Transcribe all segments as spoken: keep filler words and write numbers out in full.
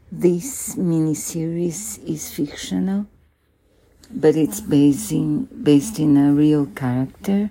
This miniseries is fictional, but it's based in, based in a real character,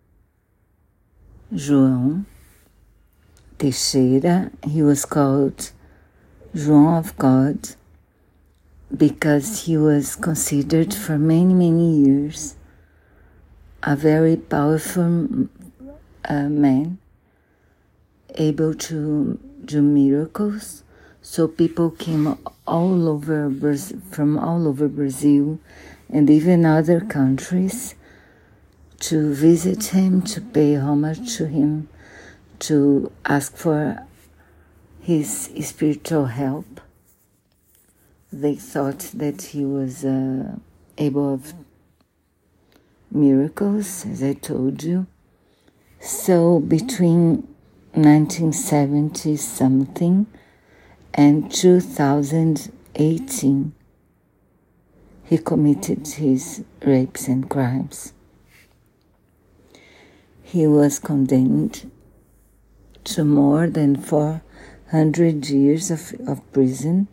João Teixeira. He was called João of God because he was considered for many, many years a very powerful uh, man, able to do miracles. So people came all over Brazil, from all over Brazil and even other countries to visit him, to pay homage to him, to ask for his spiritual help. They thought that he was uh, able of miracles, as I told you. So between nineteen seventy something and two thousand eighteen, he committed his rapes and crimes. He was condemned to more than four hundred years of, of prison,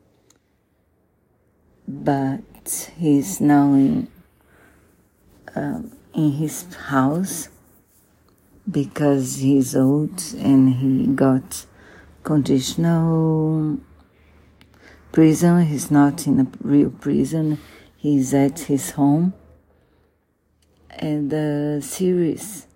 but he's now in, uh, in his house because he's old and he got conditional prison. He's not in a real prison. He's at his home. And the series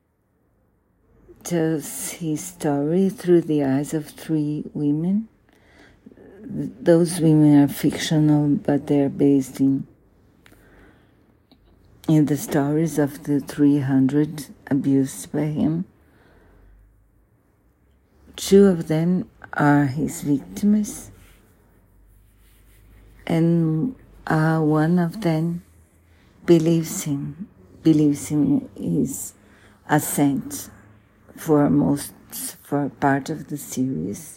tells his story through the eyes of three women. Those women are fictional, but they're based in in the stories of the three hundred abused by him. Two of them are his victims, and uh, one of them believes him, believes in his ascent for most, for part of the series.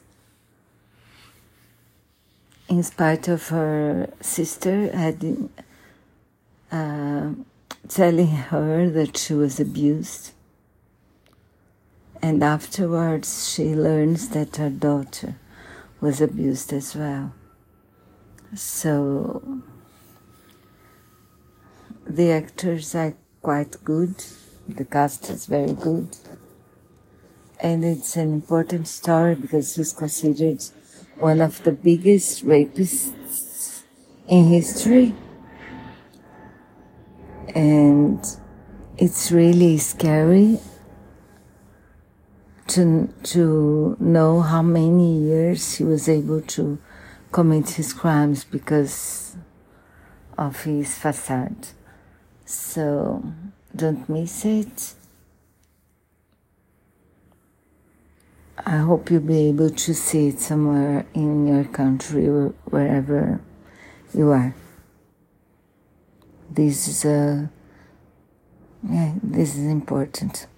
In spite of her sister had uh, telling her that she was abused, and afterwards she learns that her daughter was abused as well. So the actors are quite good, the cast is very good, and it's an important story because he's considered one of the biggest rapists in history. And it's really scary to, to know how many years he was able to commit his crimes because of his facade. So don't miss it. I hope you'll be able to see it somewhere in your country or wherever you are. This is a, yeah, this is important.